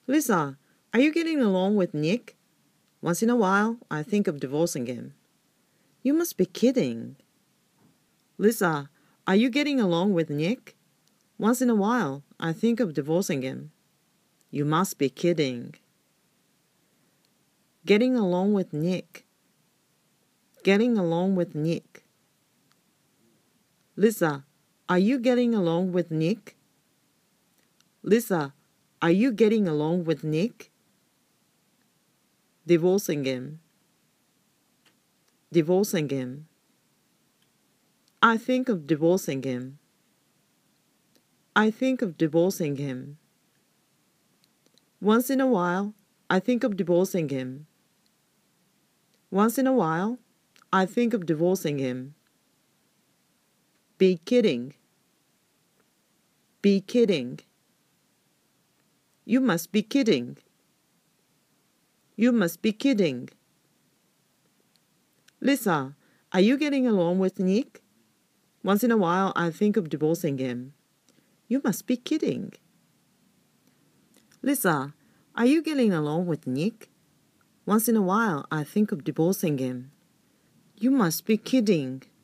Lisa, are you getting along with Nick? Once in a while, I think of divorcing him. You must be kidding. Lisa, are you getting along with Nick? Once in a while, I think of divorcing him. You must be kidding. Getting along with Nick. Getting along with Nick. Lisa, are you getting along with Nick? Lisa, are you getting along with Nick? Divorcing him. Divorcing him. I think of divorcing him. I think of divorcing him. Once in a while, I think of divorcing him. Once in a while, I think of divorcing him. Be kidding. Be kidding. You must be kidding. You must be kidding. Lisa, are you getting along with Nick? Once in a while, I think of divorcing him. You must be kidding. Lisa, are you getting along with Nick? Once in a while, I think of divorcing him. You must be kidding.